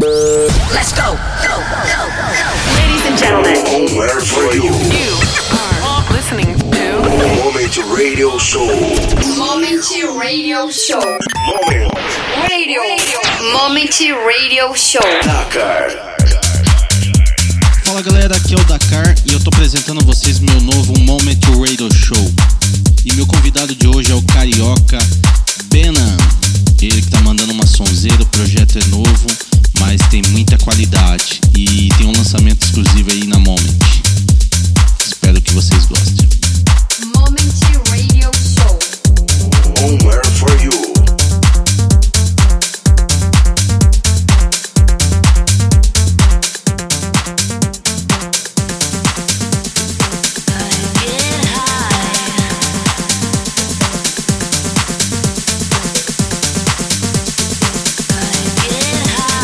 Let's go. Ladies and gentlemen, Homewhere for you. You are listening to Moment Radio Show. Moment Radio Show. Moment Radio Show. Dakar. Fala galera, aqui é o Dakar e eu tô apresentando a vocês meu novo Moment Radio Show. E meu convidado de hoje é o carioca Benan. Ele que tá mandando uma sonzeira, o projeto é novo, mas tem muita qualidade e tem um lançamento exclusivo aí na Moment. Espero que vocês gostem. Moment Radio Show. Homewhere for you. Get high.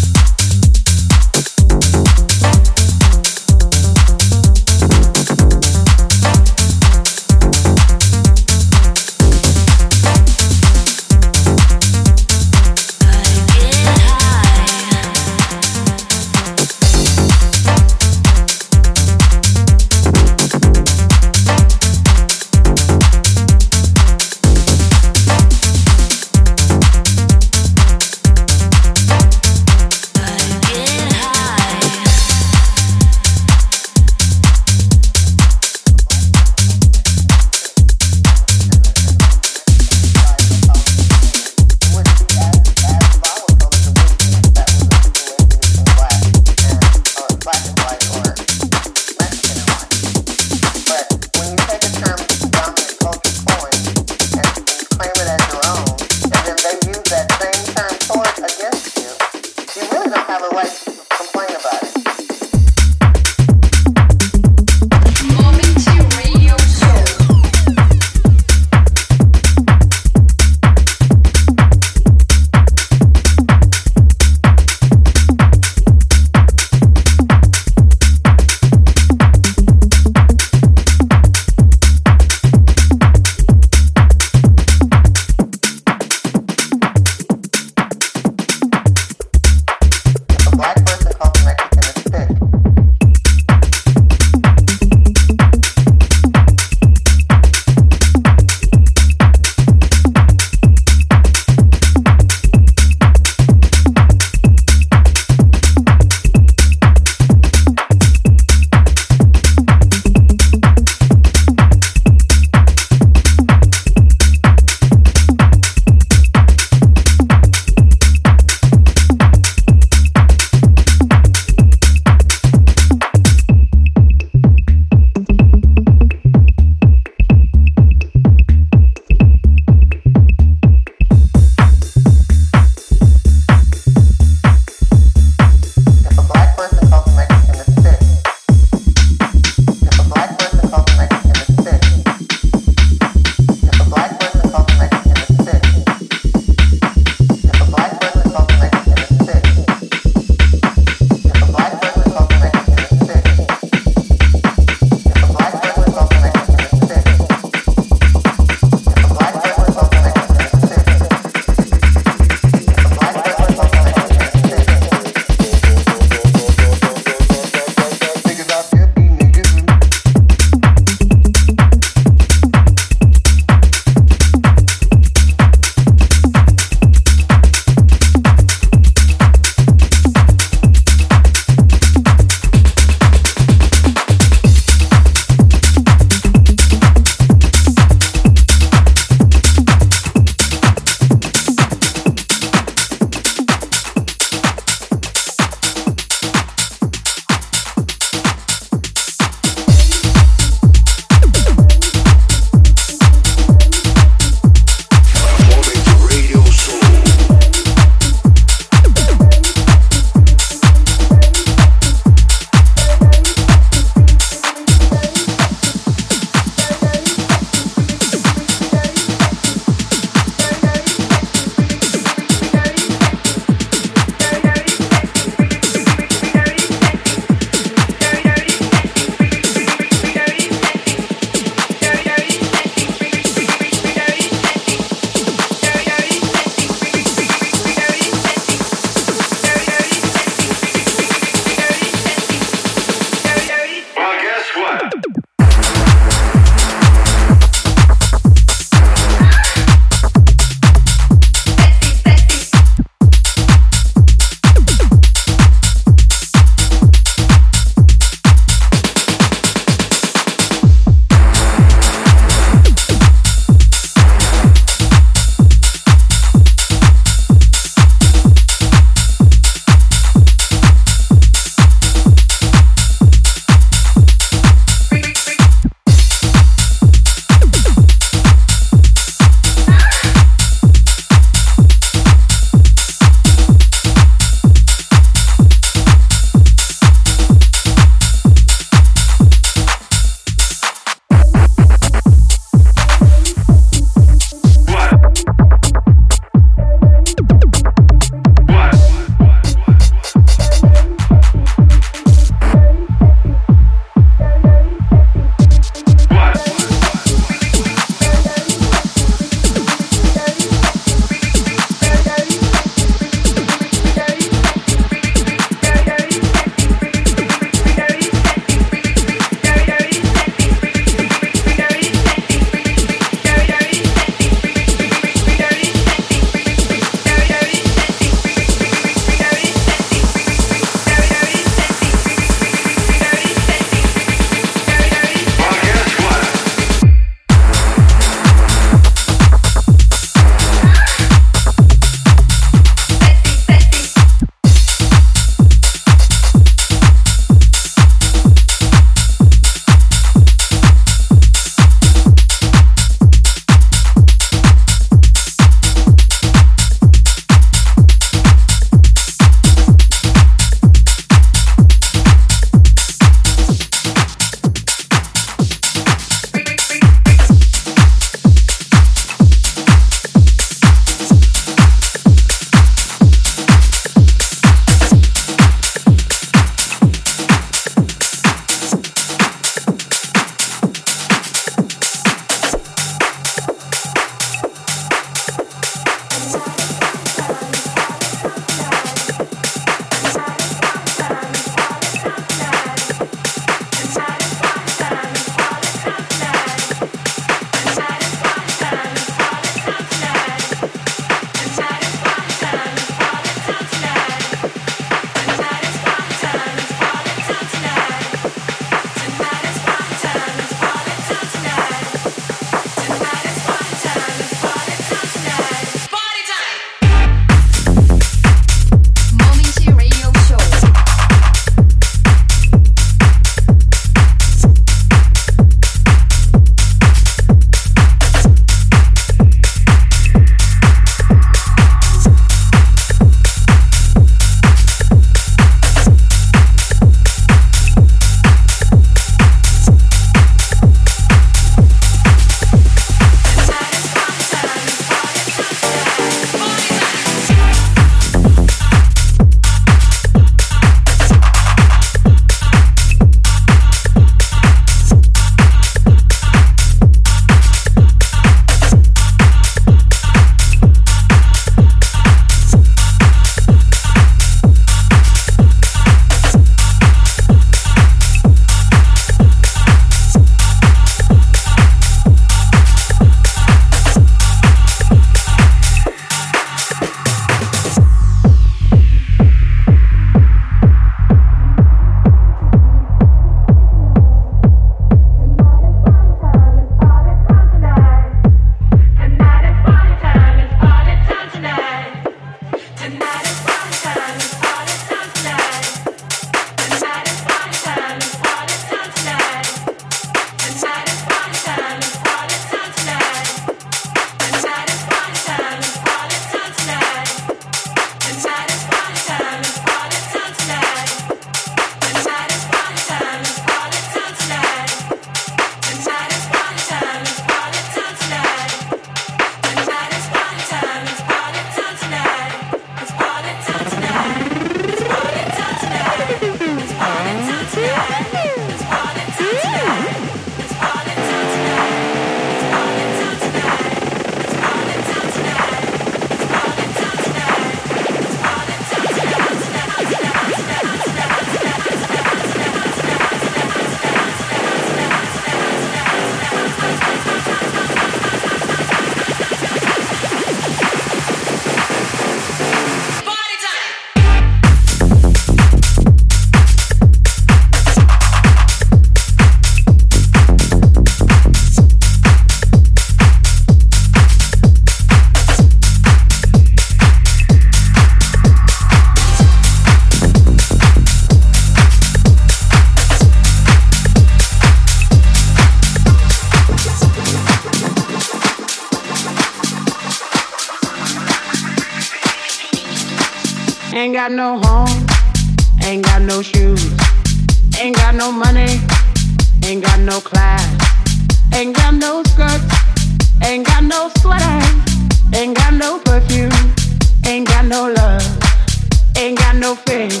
Ain't got no home, ain't got no shoes, ain't got no money, ain't got no class, ain't got no skirts, ain't got no sweater, ain't got no perfume, ain't got no love, ain't got no faith.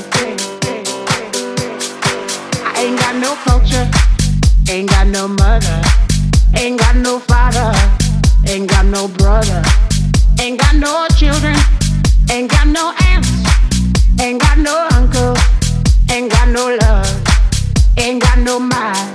I ain't got no culture, ain't got no mother, ain't got no father, ain't got no brother, ain't got no children, ain't got no aunts, ain't got no uncle, ain't got no love, ain't got no mind.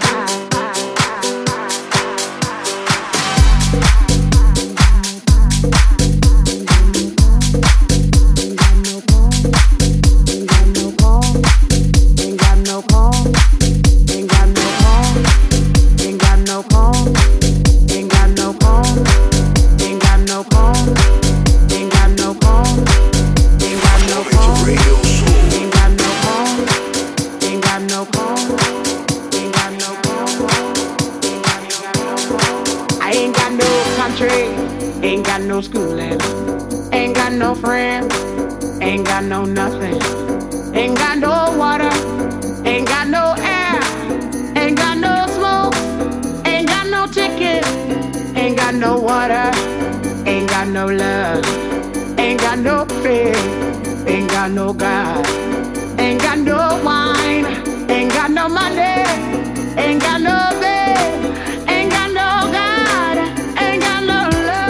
Ain't got no schooling, ain't got no friends, ain't got no nothing, ain't got no water, ain't got no air, ain't got no smoke, ain't got no ticket, ain't got no water, ain't got no love, ain't got no faith, ain't got no God, ain't got no wine, ain't got no money, ain't got no bed, ain't got no God, ain't got no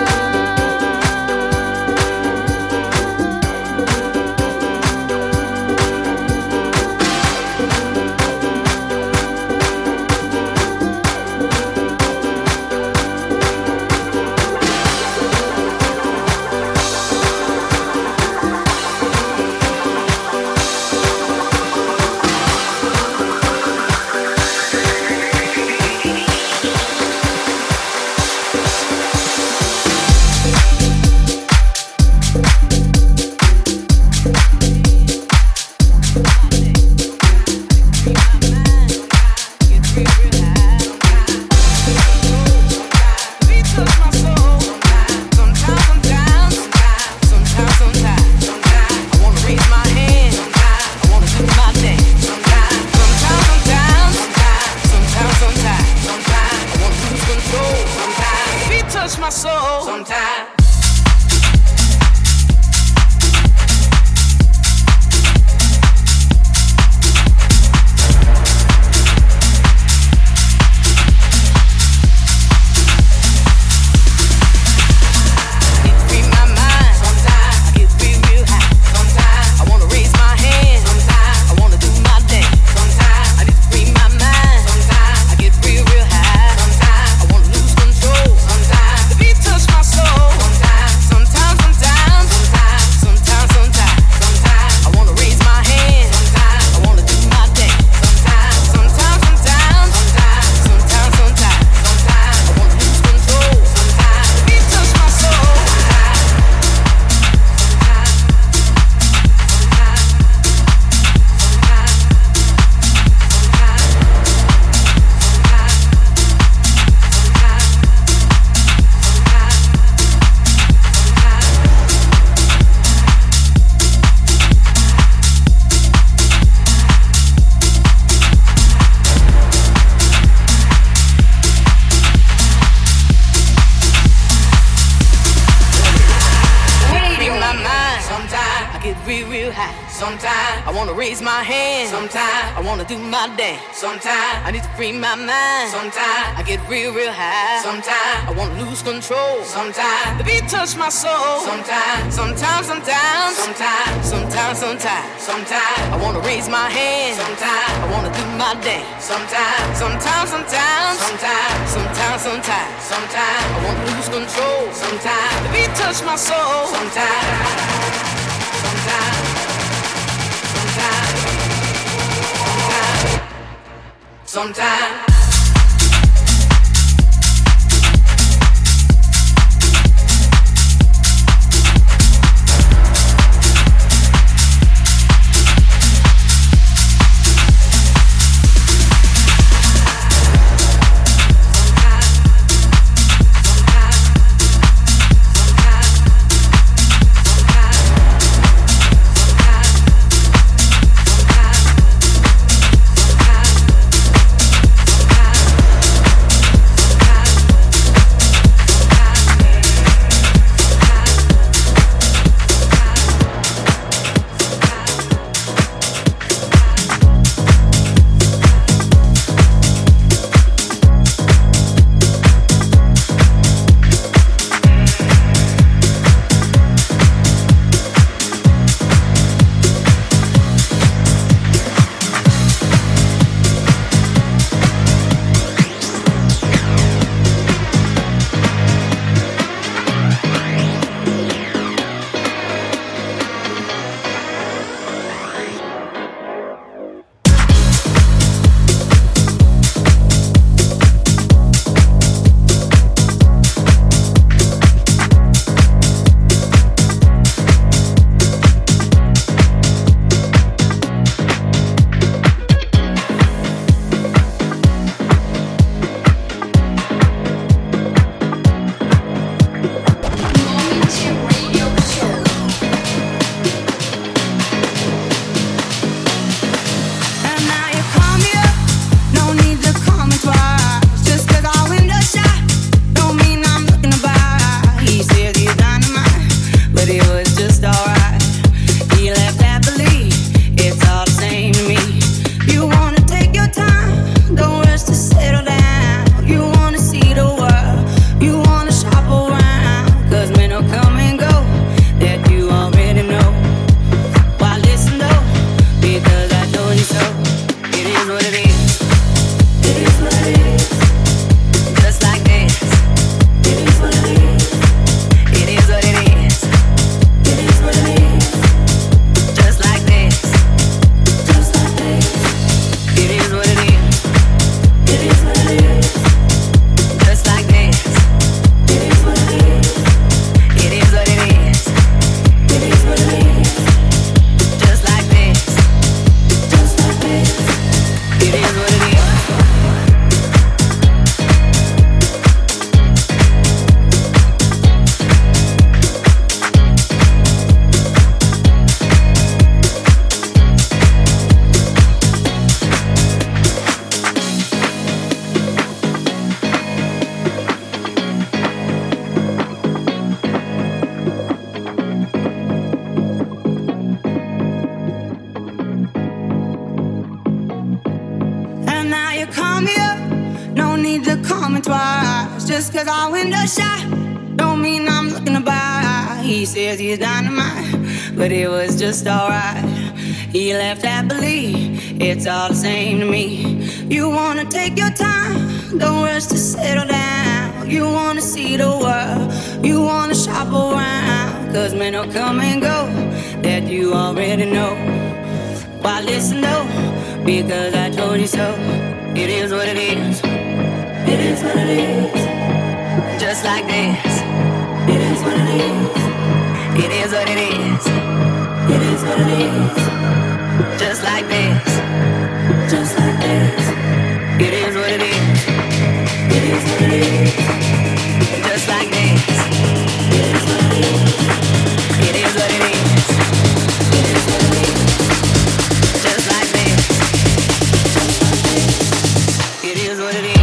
Sometimes I need to free my mind. Sometimes I get real high. Sometimes I want to lose control. Sometimes the beat touch my soul. Sometimes I want to raise my hand. Sometimes I want to do my dance. Sometimes I want to lose control. Sometimes the beat touch my soul. Sometimes. Just cause our window shot don't mean I'm looking to buy. He says he's dynamite, but it was just alright. He left happily, it's all the same to me. You wanna take your time, don't rush to settle down. You wanna see the world, you wanna shop around. Cause men will come and go, that you already know. Why listen though, because I told you so. It is what it is. It is what it is. Just like this. It is what it is. It is what it is. It is what it is. Just like this. Just like this. It is what it is. It is what it is. Just like this. It is what it is. It is what it is. It is what it is. Just like this. It is what it is.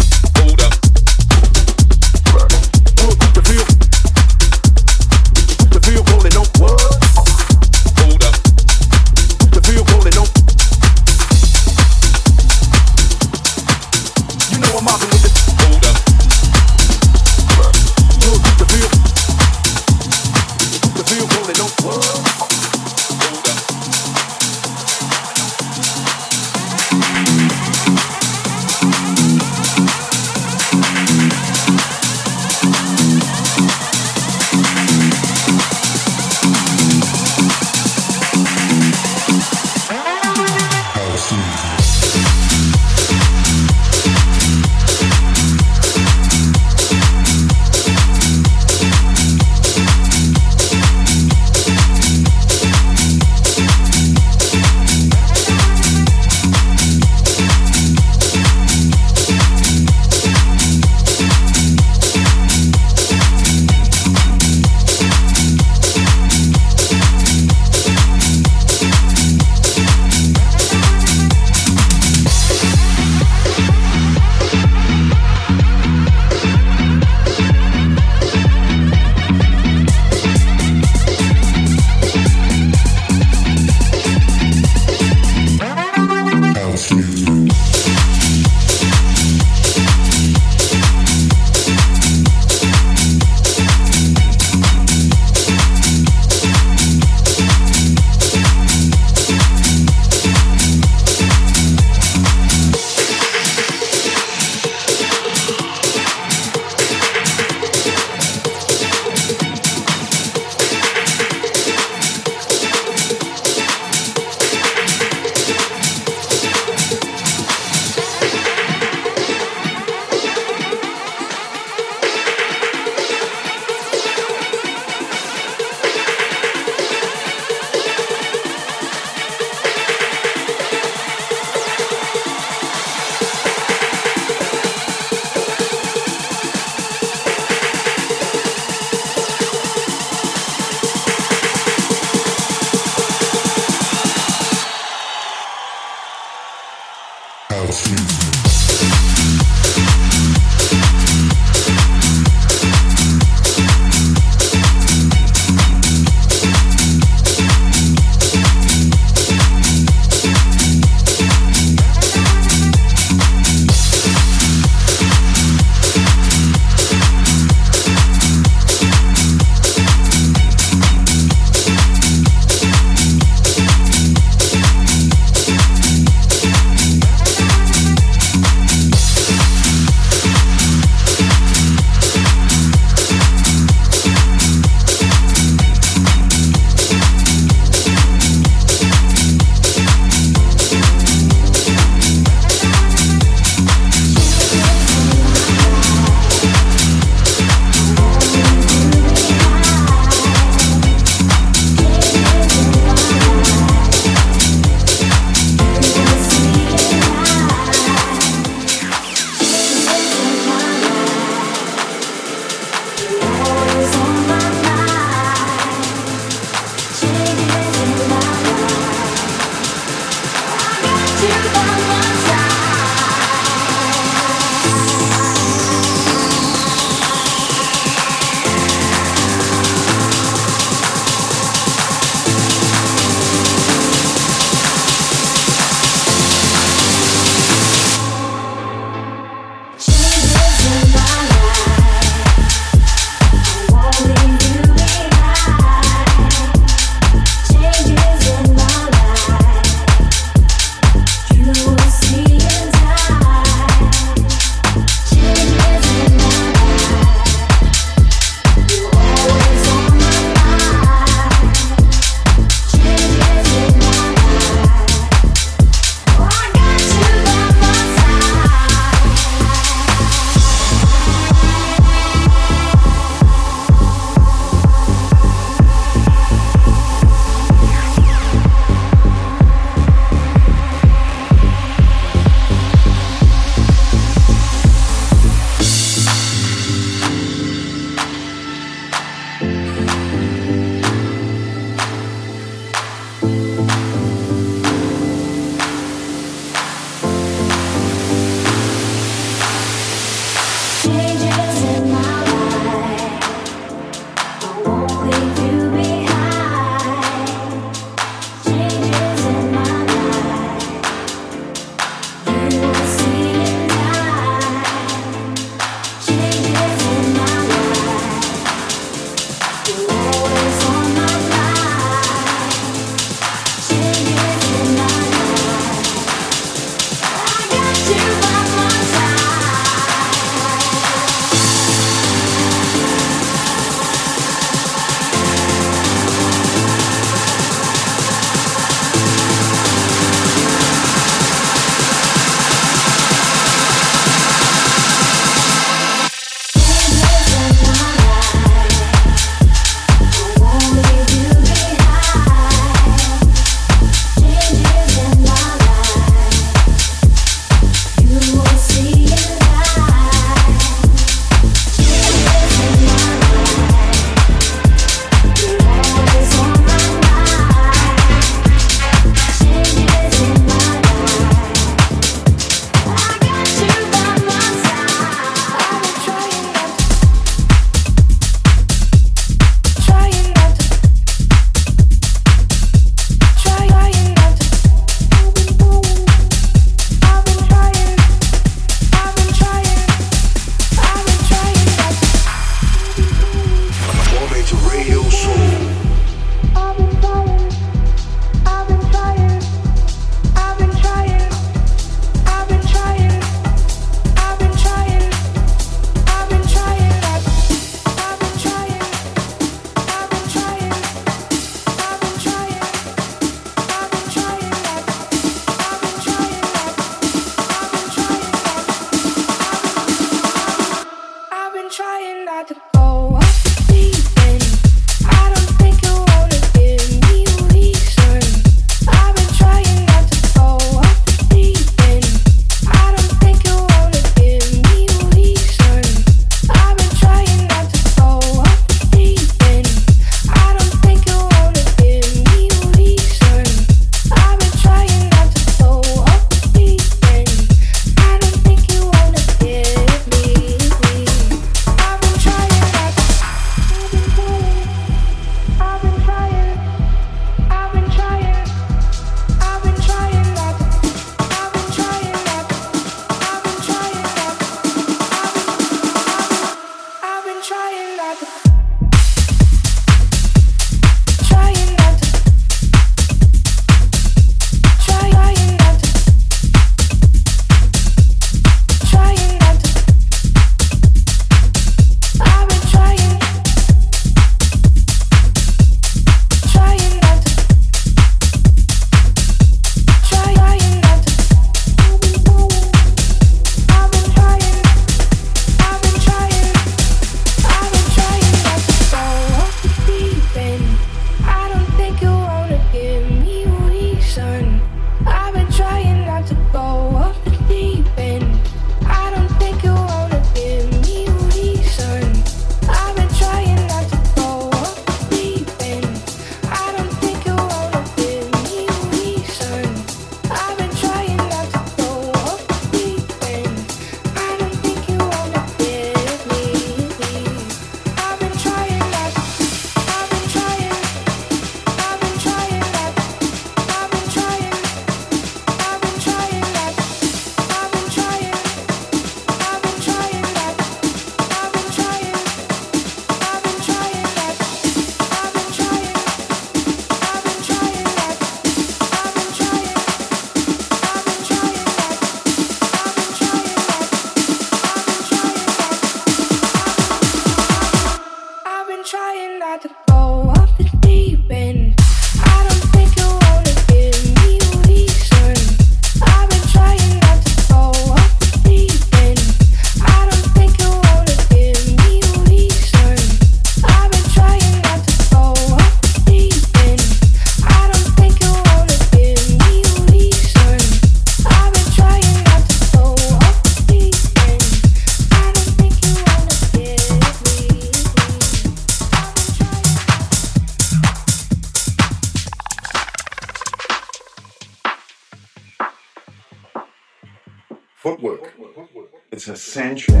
footwork. It's essential.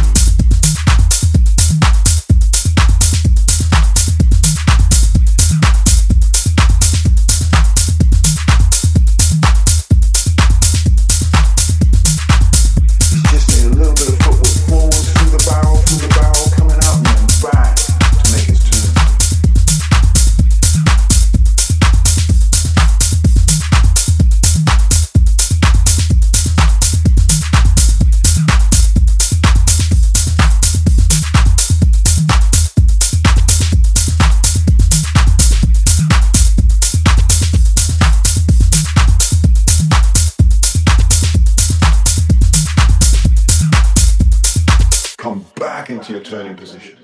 Into your turning position.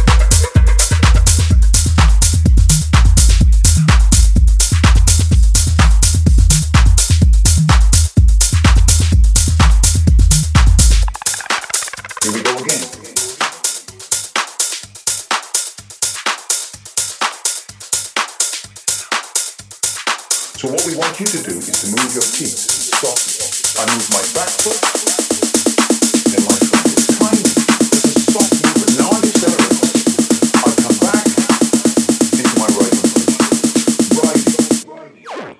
Here we go again. So what we want you to do is to move your feet softly. I move my back foot, then my front. It's tiny. Now I accelerate. I come back into my riding position. Riding.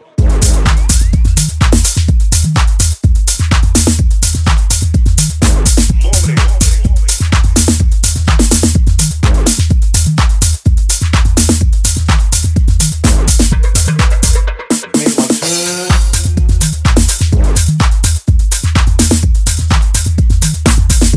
Make my turn.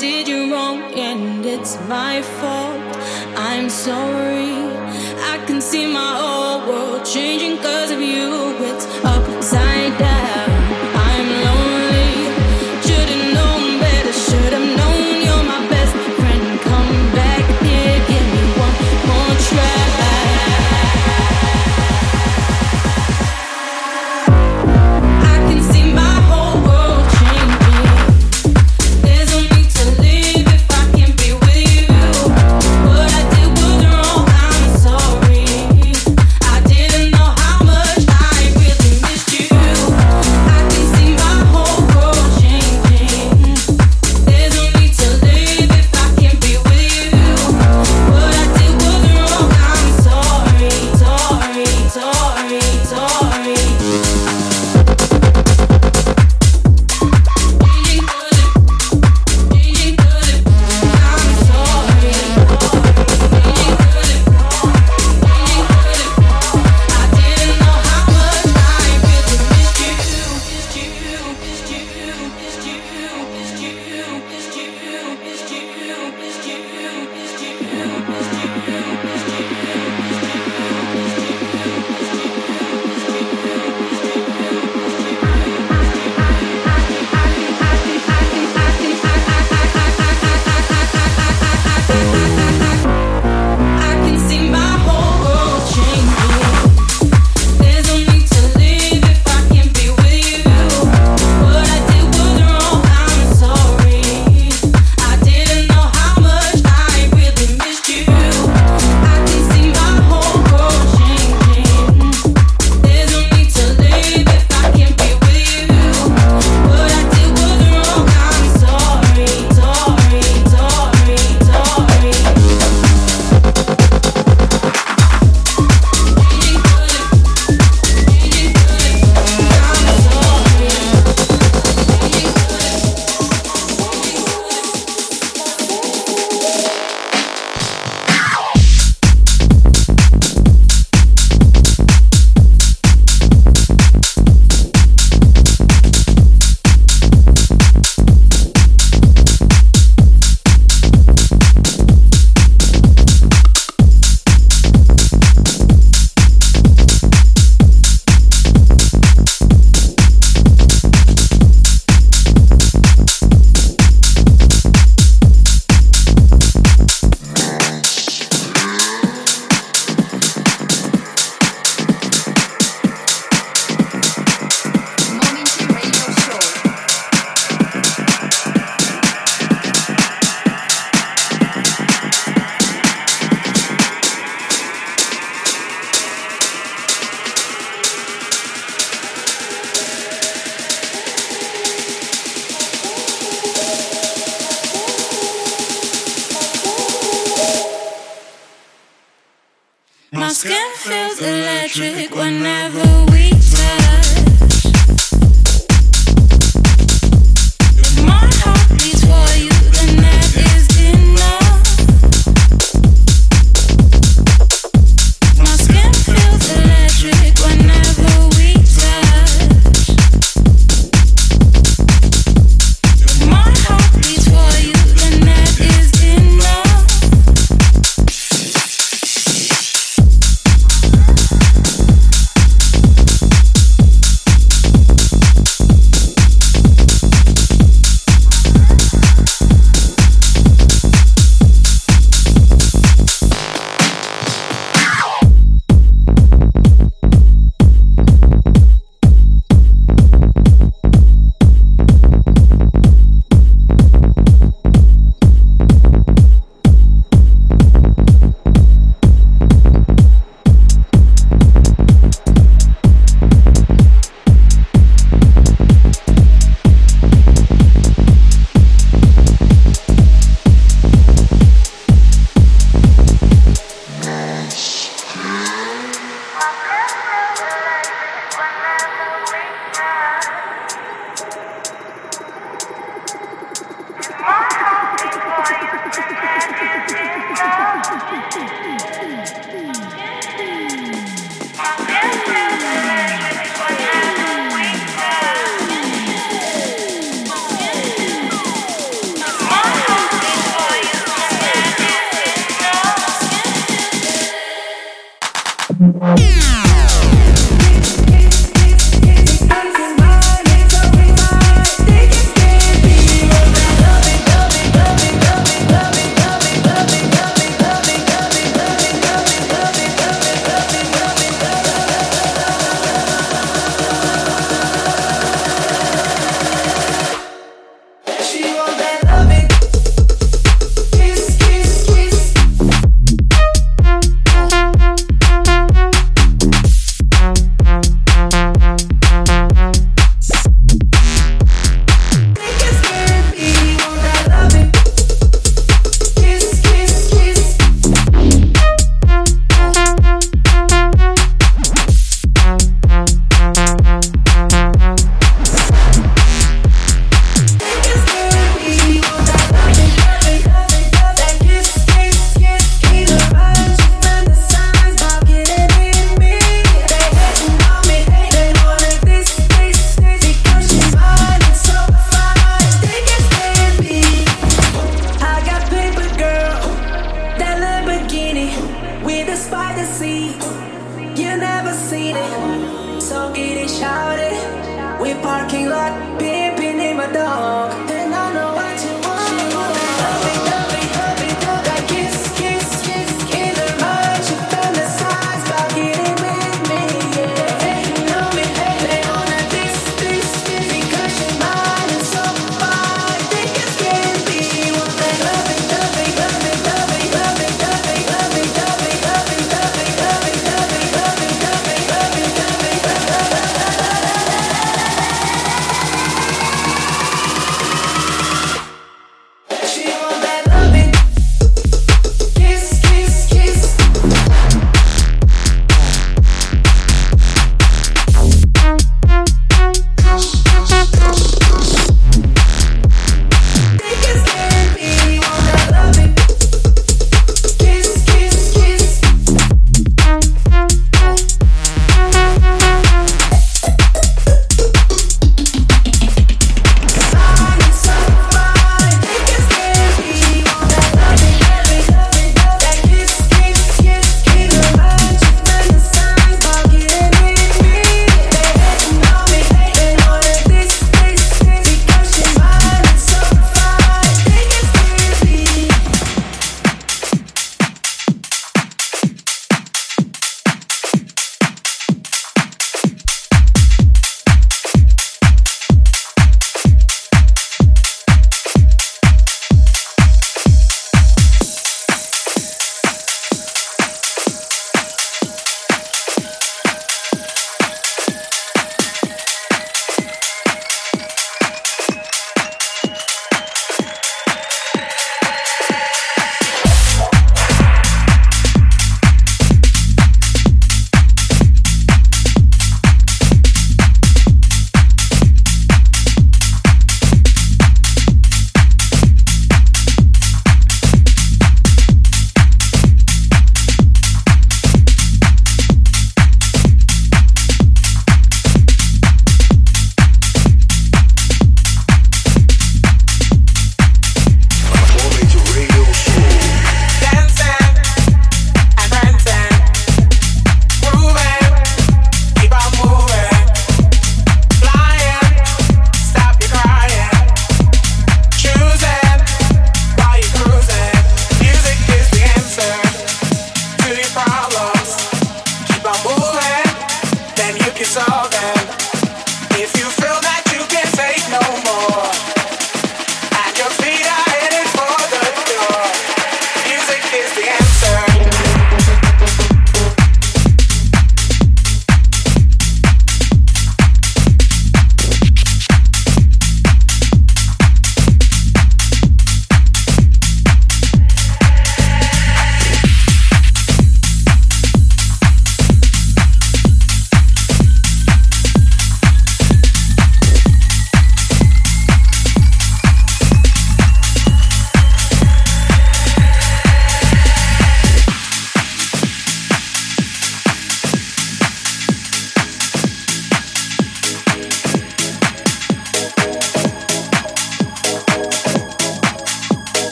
did you wrong and it's my fault. I'm sorry. I can see my whole world changing 'cause of you. It's upside down. I'm lonely. Should've known better. Should've known you're my best friend. Come back here, give me one more try. I can see my whole world changing. There's no need to leave if I can't be with you. What I did was wrong, I'm sorry. I didn't know how much I really missed you. I can see my whole world changing. There's no need to leave if I can't be with you. What I did was wrong, I'm sorry, sorry, sorry, sorry. I can see my whole world changing. There's no need to leave if I can't be with you. What I did was wrong, I'm sorry. I didn't know how much I really missed you. I can see my whole world changing. There's no need to leave if I can't be with you. What I did was wrong, I'm sorry, sorry, sorry, sorry. Momente Radio Show. My skin feels electric whenever we touch. My heart beats for you, and that is enough. My skin feels electric whenever we touch. My heart beats for you, and that is enough.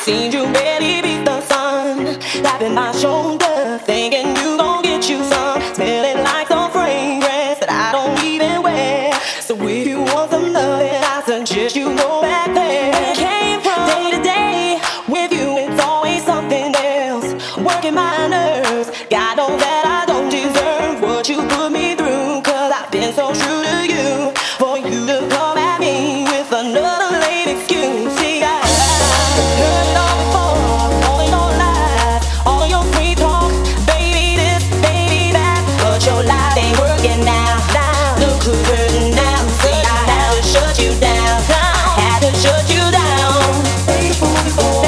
seen you barely beat the sun, tapping my shoulder, thinking you gon' get you some, smelling like some fragrance that I don't even wear. So if you want some loving, I suggest you go back there. Came from day to day with you, it's always something else, working my nerves. God knows that I don't deserve what you put me through, 'cause I've been so true to you, for you to come at me with another lame excuse. See, I heard it all before, all of your lies, all of your free talk, baby this, baby that, but your life ain't working now. Look who's hurting now. See, I had to shut you down. I had to shut you down. Stay the fool before,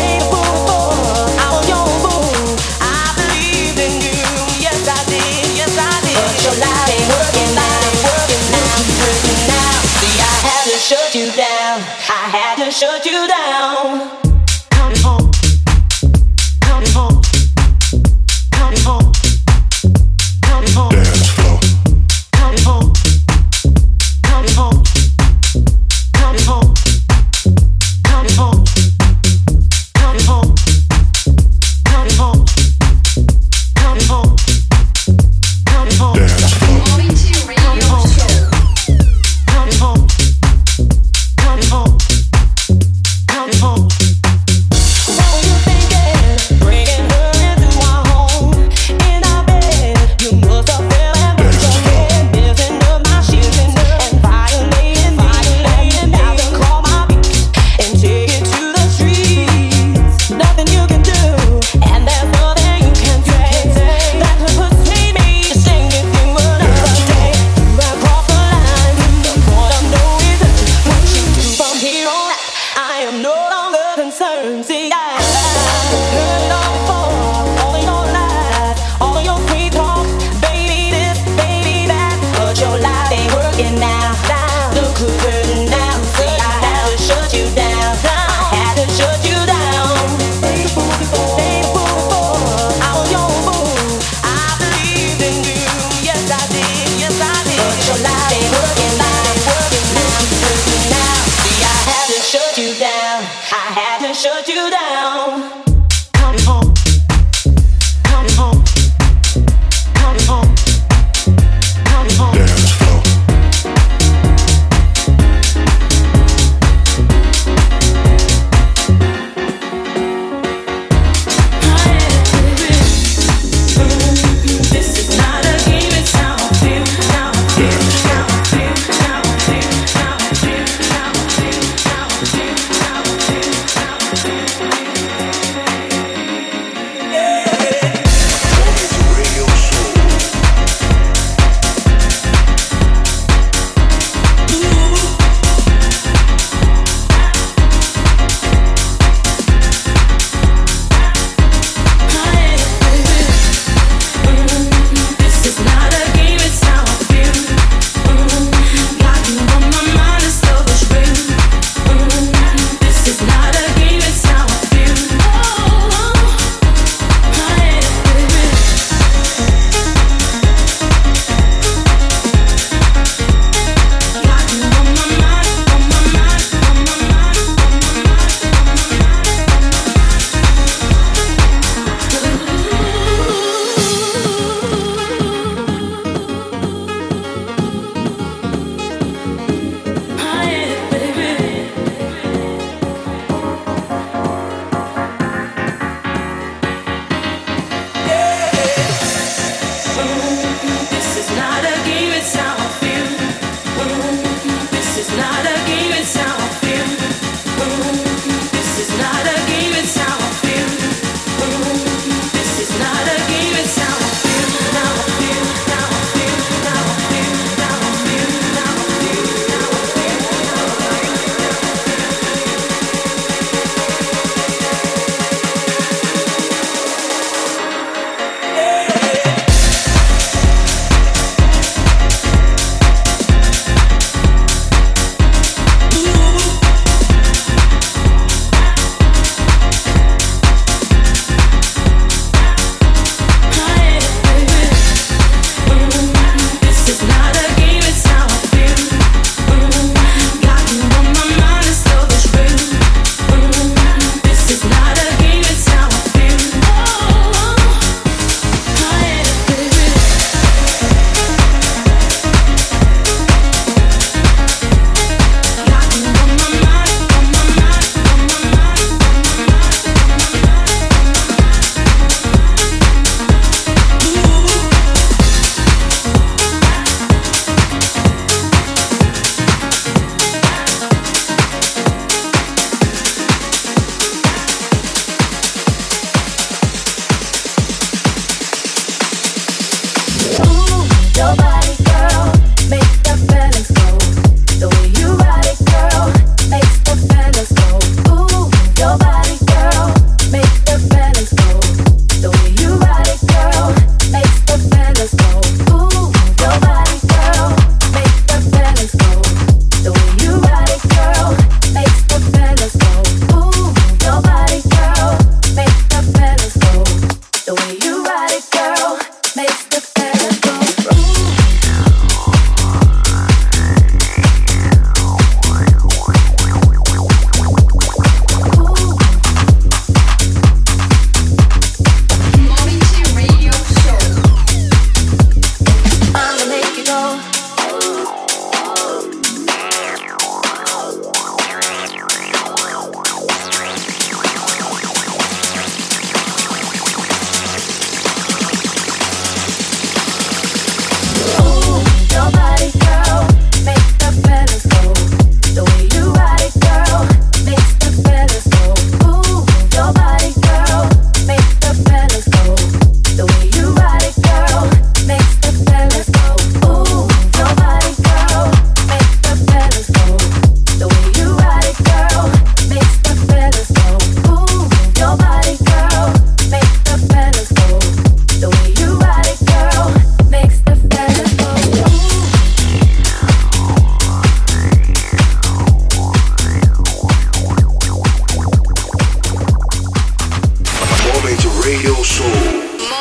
I was your fool. I believed in you, yes I did, yes I did. But your life ain't working now, hurting now. See, I had to shut you down. I had to shut you down. Come home, come home, come home, come home. Dance floor. Come home, come home, come home, come home, come home, come home, come home, come home, Dance floor. Momente Radio Show. come home, come home, come home. What were you thinking? Bringing her into our home, in our bed. You must have fell and put your head, messing up my sheets and violating me. And now to call my beats and take it to the streets. Nothing you can do, and there's nothing you can say that could persuade me to say anything another day. You have crossed the line. The point of no return. What you do from here on out, I am no longer concerned. See, I heard it all before, all of your lies, all of your free talk, baby this, baby that, but your life ain't working now. Look who's hurting now. See, I had to shut you down. I had to shut you down. Stay the fool before, I was your fool. I believed in you, yes I did, yes I did. But your life ain't working now, hurting now. See, I had to shut you down. I had to shut you down. Come home, come home, come home, come home. Dance floor.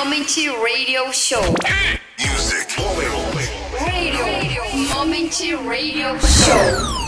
Moment Radio Show. Music. Radio. Moment Radio Show.